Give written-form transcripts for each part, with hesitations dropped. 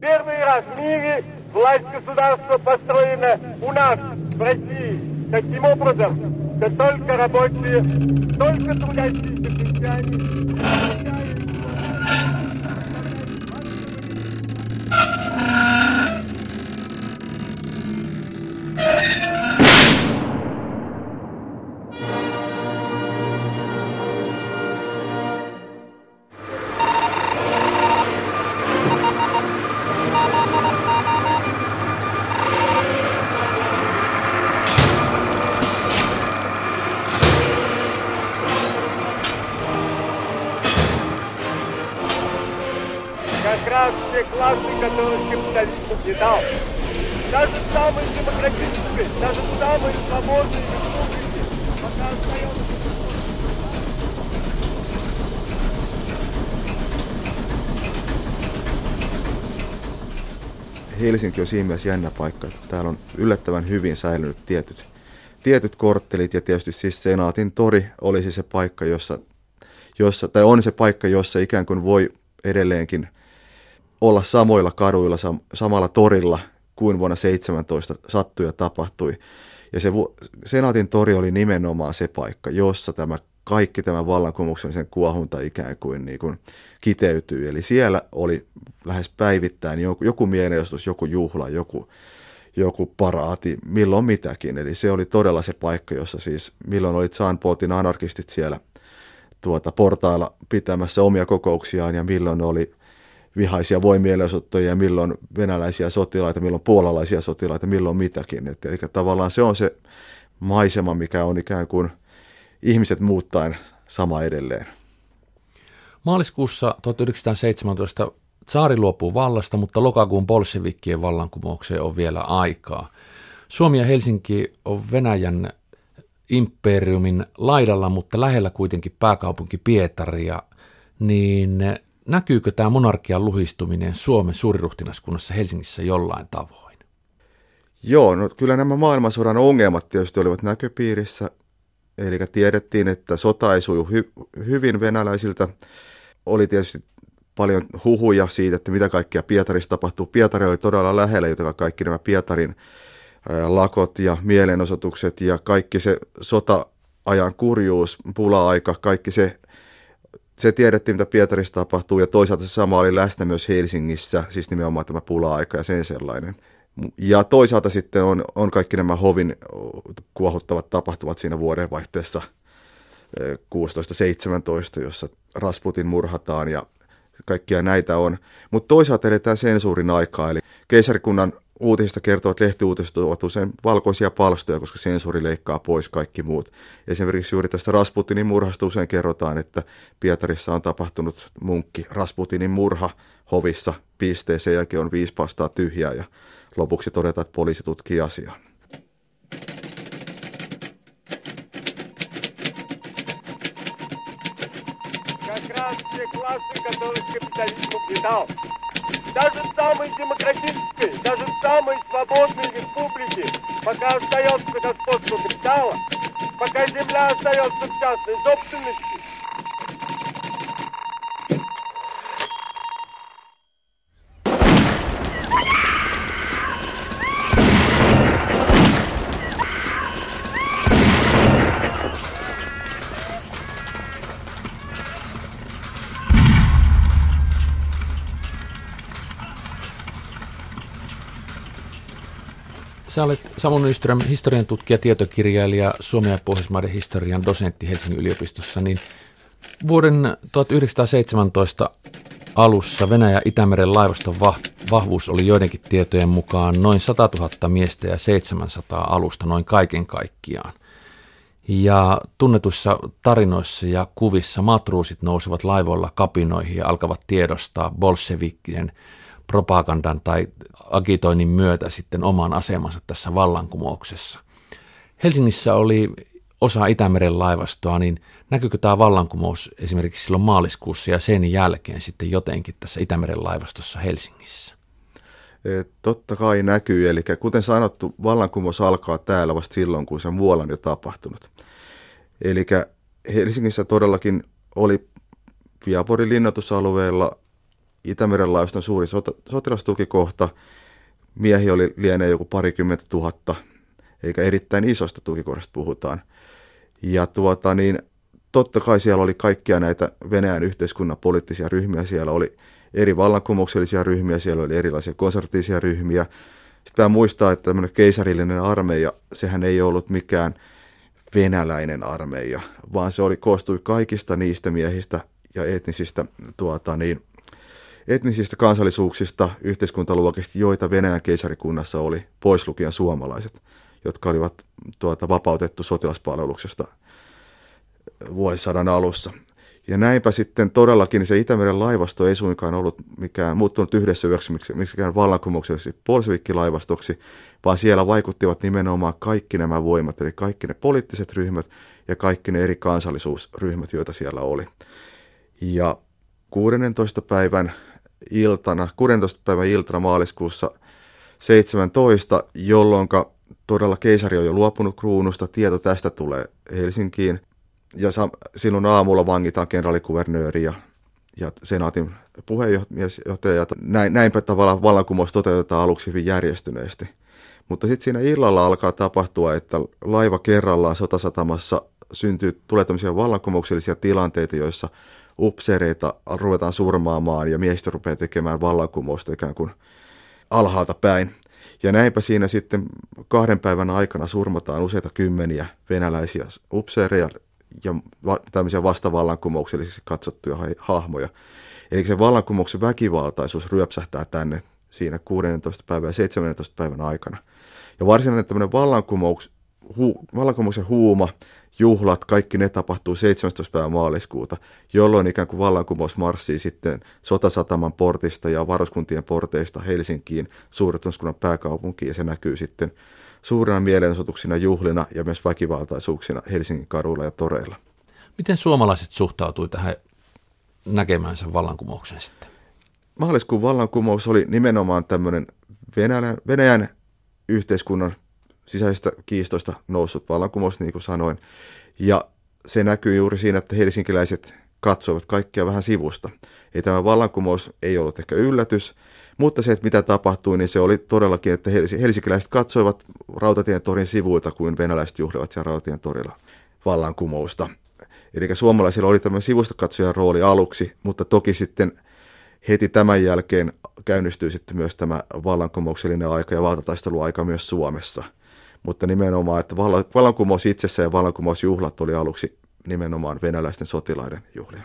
Первый раз в мире власть государства построена у нас, в России, таким образом, что только рабочие, только трудящиеся крестьяне. Как раз те классы, которых капитализм угнетал. Даже самые демократические, даже самые свободные республики пока остается... Helsinki on siinä mielessä jännä paikka, että täällä on yllättävän hyvin säilynyt tietyt korttelit ja tietysti siis Senaatin tori olisi se paikka, tai on se paikka, jossa ikään kuin voi edelleenkin olla samoilla kaduilla, samalla torilla kuin vuonna 17 sattui ja tapahtui. Ja se Senaatin tori oli nimenomaan se paikka, jossa kaikki tämä vallankumouksellisen kuohunta ikään kuin, kiteytyy. Eli siellä oli lähes päivittäin joku mielenosoitus, joku juhla, joku paraati, milloin mitäkin. Eli se oli todella se paikka, jossa siis milloin oli Jean Paulin anarkistit siellä portailla pitämässä omia kokouksiaan ja milloin oli vihaisia voimielenosoittajia ja milloin venäläisiä sotilaita, milloin puolalaisia sotilaita, milloin mitäkin. Eli tavallaan se on se maisema, mikä on ikään kuin ihmiset muuttaen sama edelleen. Maaliskuussa 1917 tsaari luopuu vallasta, mutta lokakuun bolshevikkien vallankumoukseen on vielä aikaa. Suomi ja Helsinki on Venäjän imperiumin laidalla, mutta lähellä kuitenkin pääkaupunki Pietaria, niin näkyykö tämä monarkian luhistuminen Suomen suuriruhtinaskunnassa Helsingissä jollain tavoin? Joo, no kyllä nämä maailmansodan ongelmat tietysti olivat näköpiirissä, eli tiedettiin, että sota ei suju hyvin venäläisiltä. Oli tietysti paljon huhuja siitä, että mitä kaikkea Pietarissa tapahtuu. Pietari oli todella lähellä, jotka kaikki nämä Pietarin lakot ja mielenosoitukset ja kaikki se sota-ajan kurjuus, pula-aika, kaikki se tiedettiin, mitä Pietarissa tapahtuu, ja toisaalta se sama oli läsnä myös Helsingissä, siis nimenomaan tämä pula-aika ja sen sellainen. Ja toisaalta sitten on kaikki nämä hovin kuohuttavat tapahtumat siinä vuodenvaihteessa 16-17, jossa Rasputin murhataan ja kaikkia näitä on. Mutta toisaalta eletään sensuurin aikaa, eli keisarikunnan uutisista kertovat lehtiuutiset ovat usein valkoisia palstoja, koska sensuuri leikkaa pois kaikki muut. Esimerkiksi juuri tästä Rasputinin murhasta usein kerrotaan, että Pietarissa on tapahtunut munkki Rasputinin murha hovissa, piste, sen jälkeen on 5 pastaa tyhjää ja lopuksi todetaan, että poliisi tutkii asiaa. Даже самые демократические, даже самые свободные республики, пока остается господство капитала, пока земля остается в частной собственности. Sä olet Samu Nyström, historian tutkija, tietokirjailija, Suomen ja Pohjoismaiden historian dosentti Helsingin yliopistossa, niin vuoden 1917 alussa Venäjän Itämeren laivaston vahvuus oli joidenkin tietojen mukaan noin 100 000 miestä ja 700 alusta noin kaiken kaikkiaan. Ja tunnetuissa tarinoissa ja kuvissa matruusit nousivat laivoilla kapinoihin ja alkavat tiedostaa bolshevikkien propagandan tai agitoinnin myötä sitten oman asemansa tässä vallankumouksessa. Helsingissä oli osa Itämeren laivastoa, niin näkyykö tämä vallankumous esimerkiksi silloin maaliskuussa ja sen jälkeen sitten jotenkin tässä Itämeren laivastossa Helsingissä? Totta kai näkyy, eli kuten sanottu, vallankumous alkaa täällä vasta silloin, kun se muualla on jo tapahtunut. Eli Helsingissä todellakin oli Viaporin linnoitusalueella Itämeren laivaston suuri sotilastukikohta. Miehiä lienee joku 20 000, eikä erittäin isosta tukikohdasta puhutaan. Ja totta kai siellä oli kaikkia näitä Venäjän yhteiskunnan poliittisia ryhmiä. Siellä oli eri vallankumouksellisia ryhmiä, siellä oli erilaisia konservatiivisia ryhmiä. Sitten pitää muistaa, että tämmöinen keisarillinen armeija, sehän ei ollut mikään venäläinen armeija, vaan se koostui kaikista niistä miehistä ja etnisistä kansallisuuksista, yhteiskuntaluokista, joita Venäjän keisarikunnassa oli, pois lukien suomalaiset, jotka olivat vapautettu sotilaspalveluksesta vuosisadan alussa. Ja näinpä sitten todellakin se Itämeren laivasto ei suinkaan ollut muuttunut yhdessä yöksi miksikään vallankumoukselliseksi bolševikkilaivastoksi, vaan siellä vaikuttivat nimenomaan kaikki nämä voimat, eli kaikki ne poliittiset ryhmät ja kaikki ne eri kansallisuusryhmät, joita siellä oli. Ja 16. päivän iltana maaliskuussa 17, jolloin todella keisari on jo luopunut kruunusta, tieto tästä tulee Helsinkiin. Ja silloin aamulla vangitaan kenraalikuvernööri ja senaatin puheenjohtaja. Näinpä tavallaan vallankumous toteutetaan aluksi hyvin järjestyneesti. Mutta sitten siinä illalla alkaa tapahtua, että laiva kerrallaan sotasatamassa tulee tämmöisiä vallankumouksellisia tilanteita, joissa upseereita ruvetaan surmaamaan ja miehistö rupeaa tekemään vallankumousta ikään kuin alhaalta päin. Ja näinpä siinä sitten 2 päivän aikana surmataan useita kymmeniä venäläisiä upseereja ja tämmöisiä vastavallankumouksellisiksi katsottuja hahmoja. Eli se vallankumouksen väkivaltaisuus ryöpsähtää tänne siinä 16. päivän ja 17. päivän aikana. Ja varsinainen tämmöinen vallankumouksen huuma, juhlat, kaikki ne tapahtuu 17. päivän maaliskuuta, jolloin ikään kuin vallankumous marssii sitten Sotasataman portista ja varuskuntien porteista Helsinkiin, suurettunuskunnan pääkaupunkiin, ja se näkyy sitten suurina mielenosoituksina, juhlina ja myös väkivaltaisuuksina Helsingin kaduilla ja toreilla. Miten suomalaiset suhtautui tähän näkemänsä vallankumouksen sitten? Maaliskuun vallankumous oli nimenomaan tämmöinen Venäjän yhteiskunnan sisäisistä kiistoista noussut vallankumous, niin kuin sanoin. Ja se näkyy juuri siinä, että helsinkiläiset katsoivat kaikkia vähän sivusta. Ei tämä vallankumous ei ollut ehkä yllätys, mutta se, että mitä tapahtui, niin se oli todellakin, että helsinkiläiset katsoivat Rautatien torin sivuilta, kuin venäläiset juhlivat siellä Rautatien torilla vallankumousta. Eli suomalaisilla oli tämmöinen sivustakatsojan rooli aluksi, mutta toki sitten heti tämän jälkeen käynnistyi sitten myös tämä vallankumouksellinen aika ja valtataisteluaika myös Suomessa. Mutta nimenomaan, että vallankumous itsessä ja vallankumousjuhlat oli aluksi nimenomaan venäläisten sotilaiden juhlia.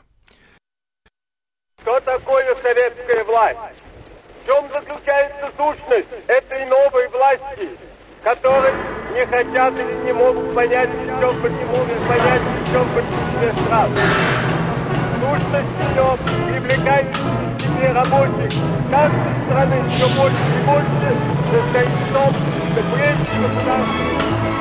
Что такое советская власть? В чем заключается сущность этой новой власти, которой не хотят или не могут понять, причем почему не понять, причем почему стран? Сущность ее привлекает к себе рабочих каждой страны все больше и больше, состоит в том, что прежде государства.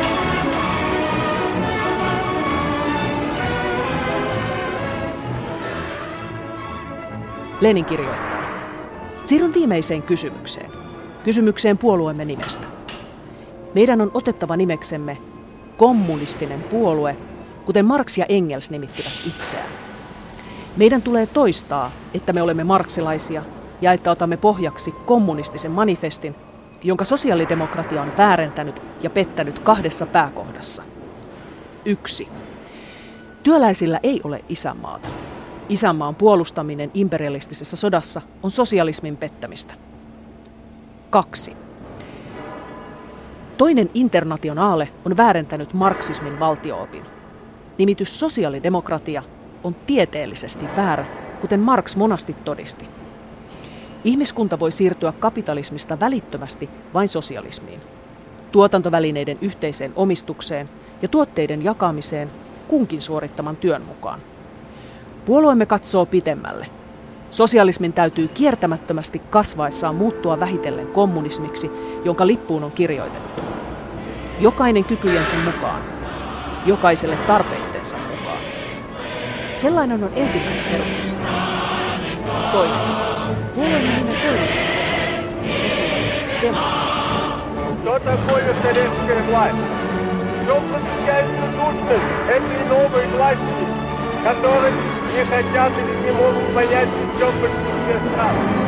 Lenin kirjoittaa. Siirryn viimeiseen kysymykseen. Kysymykseen puolueemme nimestä. Meidän on otettava nimeksemme kommunistinen puolue, kuten Marx ja Engels nimittivät itseään. Meidän tulee toistaa, että me olemme marxilaisia ja että otamme pohjaksi kommunistisen manifestin, jonka sosiaalidemokratia on väärentänyt ja pettänyt 2 pääkohdassa. 1. Työläisillä ei ole isänmaata. Isänmaan puolustaminen imperialistisessa sodassa on sosialismin pettämistä. 2. Toinen internationaale on väärentänyt marksismin valtio-opin. Nimitys sosiaalidemokratia on tieteellisesti väärä, kuten Marx monasti todisti. Ihmiskunta voi siirtyä kapitalismista välittömästi vain sosialismiin. Tuotantovälineiden yhteiseen omistukseen ja tuotteiden jakamiseen kunkin suorittaman työn mukaan. Puolueemme katsoo pitemmälle. Sosialismin täytyy kiertämättömästi kasvaessaan muuttua vähitellen kommunismiksi, jonka lippuun on kirjoitettu. Jokainen kykyjensä mukaan, jokaiselle tarpeittensa mukaan. Sellainen on ensimmäinen perustelu. Toinen. Puolueemme nimen toinen sosiaalidemokratia. Что такое советская власть? В чем заключается сущность этой новой власти, которой не хотят или не могут понять, в чем почему стран?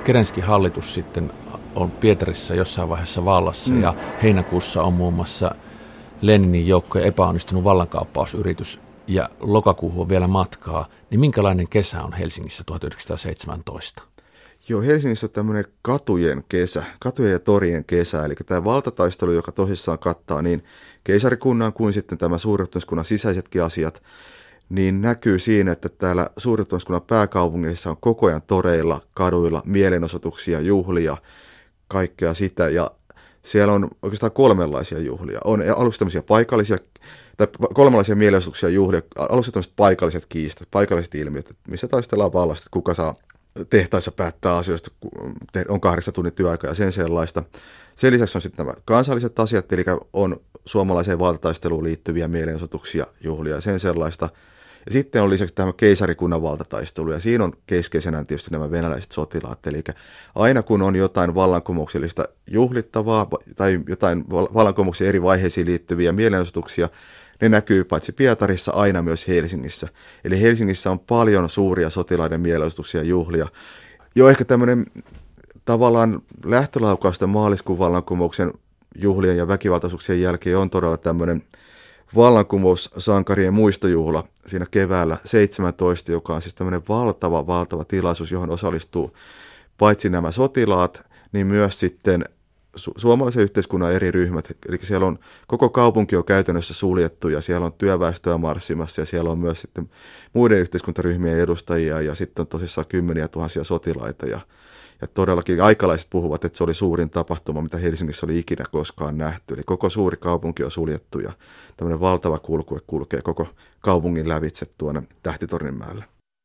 Kerenskin hallitus sitten on Pietarissa jossain vaiheessa vallassa ja heinäkuussa on muun muassa Leninin joukkojen epäonnistunut vallankaappausyritys ja lokakuuhun on vielä matkaa, niin minkälainen kesä on Helsingissä 1917? Joo, Helsingissä on tämmöinen katujen ja torien kesä, eli tämä valtataistelu, joka tosissaan kattaa niin keisarikunnan kuin sitten tämä suurjohtajuuskunnan sisäisetkin asiat, niin näkyy siinä, että täällä suurjohtajuuskunnan pääkaupungissa on koko ajan toreilla, kaduilla, mielenosoituksia, juhlia, kaikkea sitä, ja siellä on oikeastaan kolmenlaisia juhlia. On aluksi tämmöisiä paikallisia, tai kolmenlaisia mielenosoituksia juhlia, aluksi tämmöiset paikalliset kiistat, paikalliset ilmiöt, missä taistellaan vallasta, että kuka saa tehtaissa päättää asioista, on 8 tunnin työaika ja sen sellaista. Sen lisäksi on sitten nämä kansalliset asiat, eli on suomalaiseen valtataisteluun liittyviä mielenosoituksia, juhlia ja sen sellaista. Ja sitten on lisäksi tämä keisarikunnan valtataistelu, ja siinä on keskeisenä tietysti nämä venäläiset sotilaat. Eli aina kun on jotain vallankumouksellista juhlittavaa tai jotain vallankumouksen eri vaiheisiin liittyviä mielenosoituksia, ne näkyy paitsi Pietarissa aina myös Helsingissä. Eli Helsingissä on paljon suuria sotilaiden mielenosoituksia ja juhlia. Jo ehkä tämmöinen tavallaan lähtölaukausta maaliskuun vallankumouksen juhlien ja väkivaltaisuuksien jälkeen on todella tämmöinen vallankumoussankarien muistojuhla siinä keväällä 17, joka on siis tämmöinen valtava tilaisuus, johon osallistuu paitsi nämä sotilaat, niin myös sitten suomalaisen yhteiskunnan eri ryhmät. Eli siellä on koko kaupunki on käytännössä suljettu ja siellä on työväestöä marssimassa ja siellä on myös sitten muiden yhteiskuntaryhmien edustajia ja sitten on tosissaan kymmeniä tuhansia sotilaita ja todellakin aikalaiset puhuvat, että se oli suurin tapahtuma, mitä Helsingissä oli ikinä koskaan nähty. Eli koko suuri kaupunki on suljettu ja tämmöinen valtava kulkue kulkee koko kaupungin lävitse tuonne Tähtitorninmäelle.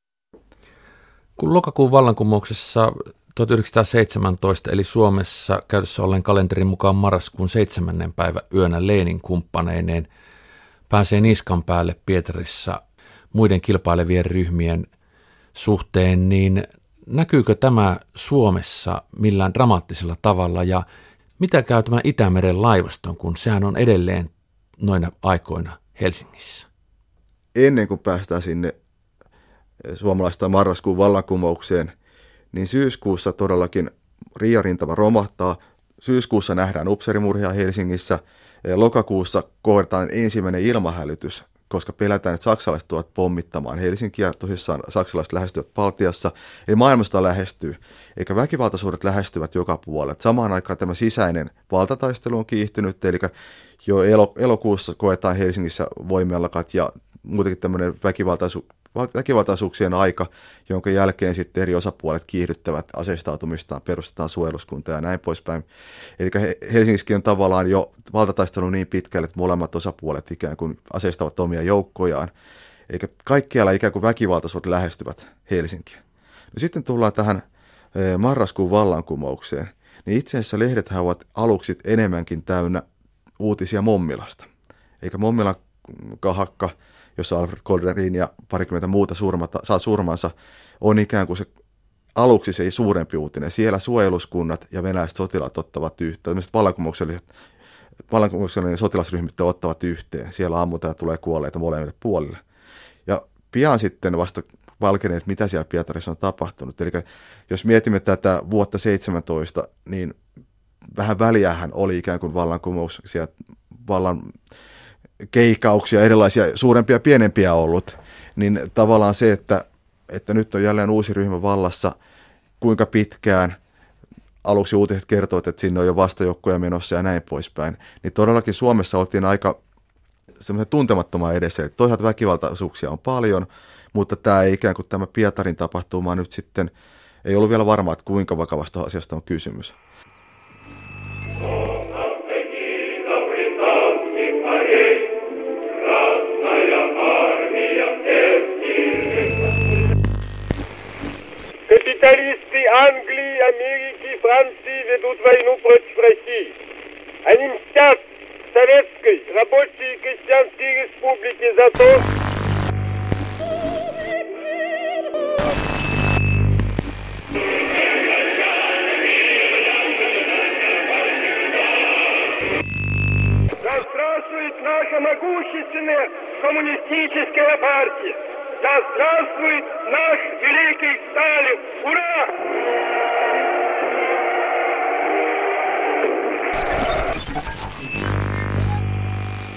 Kun lokakuun vallankumouksessa 1917, eli Suomessa käytössä ollen kalenterin mukaan marraskuun 7. päivä yönä Lenin kumppaneineen pääsee niskan päälle Pietarissa muiden kilpailevien ryhmien suhteen, niin näkyykö tämä Suomessa millään dramaattisella tavalla ja mitä käy tämän Itämeren laivaston, kun sehän on edelleen noina aikoina Helsingissä? Ennen kuin päästään sinne suomalaista marraskuun vallankumoukseen, niin syyskuussa todellakin Riiarintama romahtaa. Syyskuussa nähdään upseerimurhia Helsingissä. Lokakuussa kohdataan ensimmäinen ilmahälytys, koska pelätään, että saksalaiset tuovat pommittamaan Helsinkiä. Tosissaan saksalaiset lähestyvät Baltiassa. Eli maailmasta lähestyy, eikä väkivaltaisuudet lähestyvät joka puolelle. Samaan aikaan tämä sisäinen valtataistelu on kiihtynyt, eli jo elokuussa koetaan Helsingissä voimialakat ja muutenkin tämmöinen väkivaltaisuuksien aika, jonka jälkeen sitten eri osapuolet kiihdyttävät aseistautumistaan, perustetaan suojeluskunta ja näin poispäin. Eli Helsingissäkin on tavallaan jo valtataistelu niin pitkälle, että molemmat osapuolet ikään kuin aseistavat omia joukkojaan. Eli kaikkialla ikään kuin väkivaltaisuudet lähestyvät Helsinkiä. No sitten tullaan tähän marraskuun vallankumoukseen, niin itse asiassa lehdethän ovat aluksi enemmänkin täynnä uutisia Mommilasta. Eikä Mommilan kahakka, jossa Alfred Kolderin ja parikymmentä muuta saa surmansa, on ikään kuin se aluksi se ei suurempi uutinen. Siellä suojeluskunnat ja venäläiset sotilaat ottavat yhteen. Tällaiset vallankumouksellinen sotilasryhmät ottavat yhteen. Siellä ammutaan ja tulee kuolleita molemmille puolille. Ja pian sitten vasta valkeneet, mitä siellä Pietarissa on tapahtunut. Eli jos mietimme tätä vuotta 17, niin vähän väliähän oli ikään kuin vallankumouksia, keikauksia, erilaisia suurempia ja pienempiä ollut, niin tavallaan se, että nyt on jälleen uusi ryhmä vallassa, kuinka pitkään, aluksi uutiset kertovat, että sinne on jo vastajoukkoja menossa ja näin poispäin, niin todellakin Suomessa oltiin aika semmoisen tuntemattoman edessä, että toisaalta väkivaltaisuuksia on paljon, mutta tämä ei ikään kuin tämä Pietarin tapahtuma nyt sitten, ei ollut vielä varmaa, että kuinka vakavasta asiasta on kysymys. Капиталисты Англии, Америки, Франции ведут войну против России. Они мстят Советской рабочей и крестьянской республике за то, да здравствует наша могущественная коммунистическая партия! Да здравствует наш великий Сталин! Ура!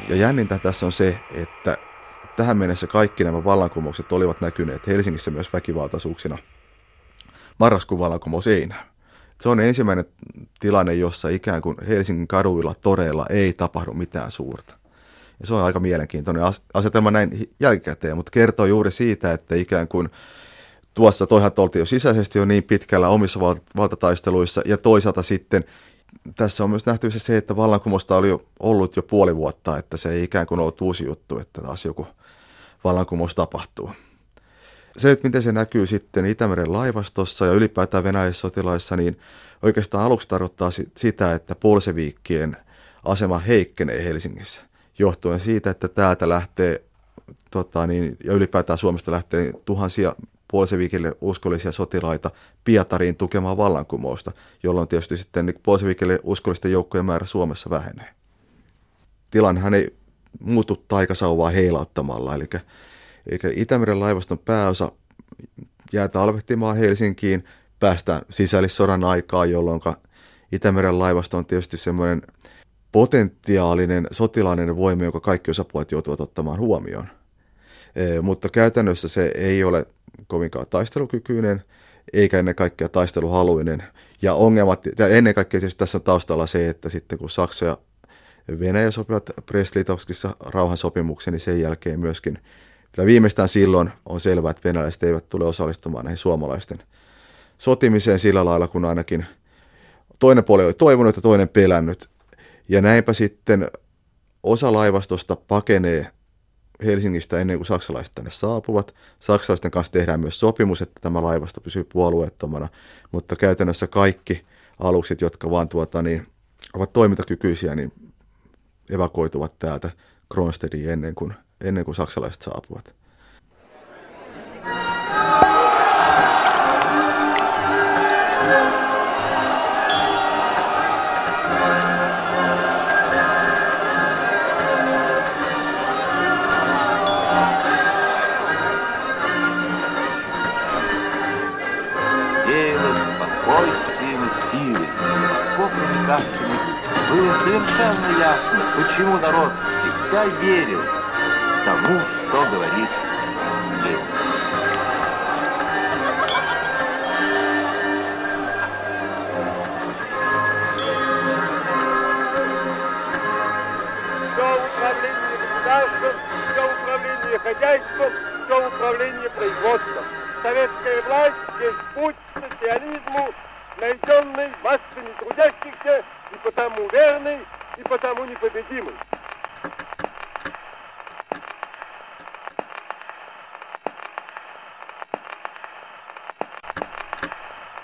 Ja jännintä tässä on se, että tähän mennessä kaikki nämä vallankumoukset olivat näkyneet Helsingissä myös väkivaltaisuuksina. Marraskuun vallankumous ei näy. Se on ensimmäinen tilanne, jossa ikään kuin Helsingin kaduilla, toreilla ei tapahdu mitään suurta. Ja se on aika mielenkiintoinen asetelma näin jälkikäteen, mutta kertoo juuri siitä, että ikään kuin tuossa toihan oltiin jo sisäisesti jo niin pitkällä omissa valtataisteluissa, ja toisaalta sitten tässä on myös nähtävissä se, että vallankumousta oli ollut jo puoli vuotta, että se ei ikään kuin ollut uusi juttu, että taas joku vallankumous tapahtuu. Se, että miten se näkyy sitten Itämeren laivastossa ja ylipäätään venäläissotilaissa, niin oikeastaan aluksi tarkoittaa sitä, että bolseviikkien asema heikkenee Helsingissä, johtuen siitä, että täältä lähtee, ja ylipäätään Suomesta lähtee tuhansia bolseviikille uskollisia sotilaita Pietariin tukemaan vallankumousta, jolloin tietysti sitten bolseviikille uskollisten joukkojen määrä Suomessa vähenee. Tilannehan ei muutu taikasauvaa heilauttamalla, eli Itämeren laivaston pääosa jää talvehtimaan Helsinkiin, päästään sisällissodan aikaan, jolloin Itämeren laivasto on tietysti semmoinen potentiaalinen sotilainen voima, jonka kaikki osapuolet joutuvat ottamaan huomioon. Mutta käytännössä se ei ole kovinkaan taistelukykyinen, eikä ennen kaikkea taisteluhaluinen. Ja ennen kaikkea tässä on taustalla se, että sitten kun Saksa ja Venäjä sopivat Brest-Litovskissa rauhansopimuksen, niin sen jälkeen myöskin, viimeistään silloin on selvää, että venäläiset eivät tule osallistumaan näihin suomalaisten sotimiseen sillä lailla, kun ainakin toinen puoli oli toivonut ja toinen pelännyt. Ja näinpä sitten osa laivastosta pakenee Helsingistä ennen kuin saksalaiset tänne saapuvat. Saksalaisten kanssa tehdään myös sopimus, että tämä laivasto pysyy puolueettomana, mutta käytännössä kaikki alukset, jotka vaan ovat toimintakykyisiä, niin evakuoituvat täältä Kronstedtiin ennen kuin saksalaiset saapuvat. Было совершенно ясно, почему народ всегда верил тому, что говорит Ленин. Все управление государством, все управление хозяйством, все управление производством. Советская власть есть путь к социализму, найденный массами трудящихся, и потому верный, и потому непобедимый.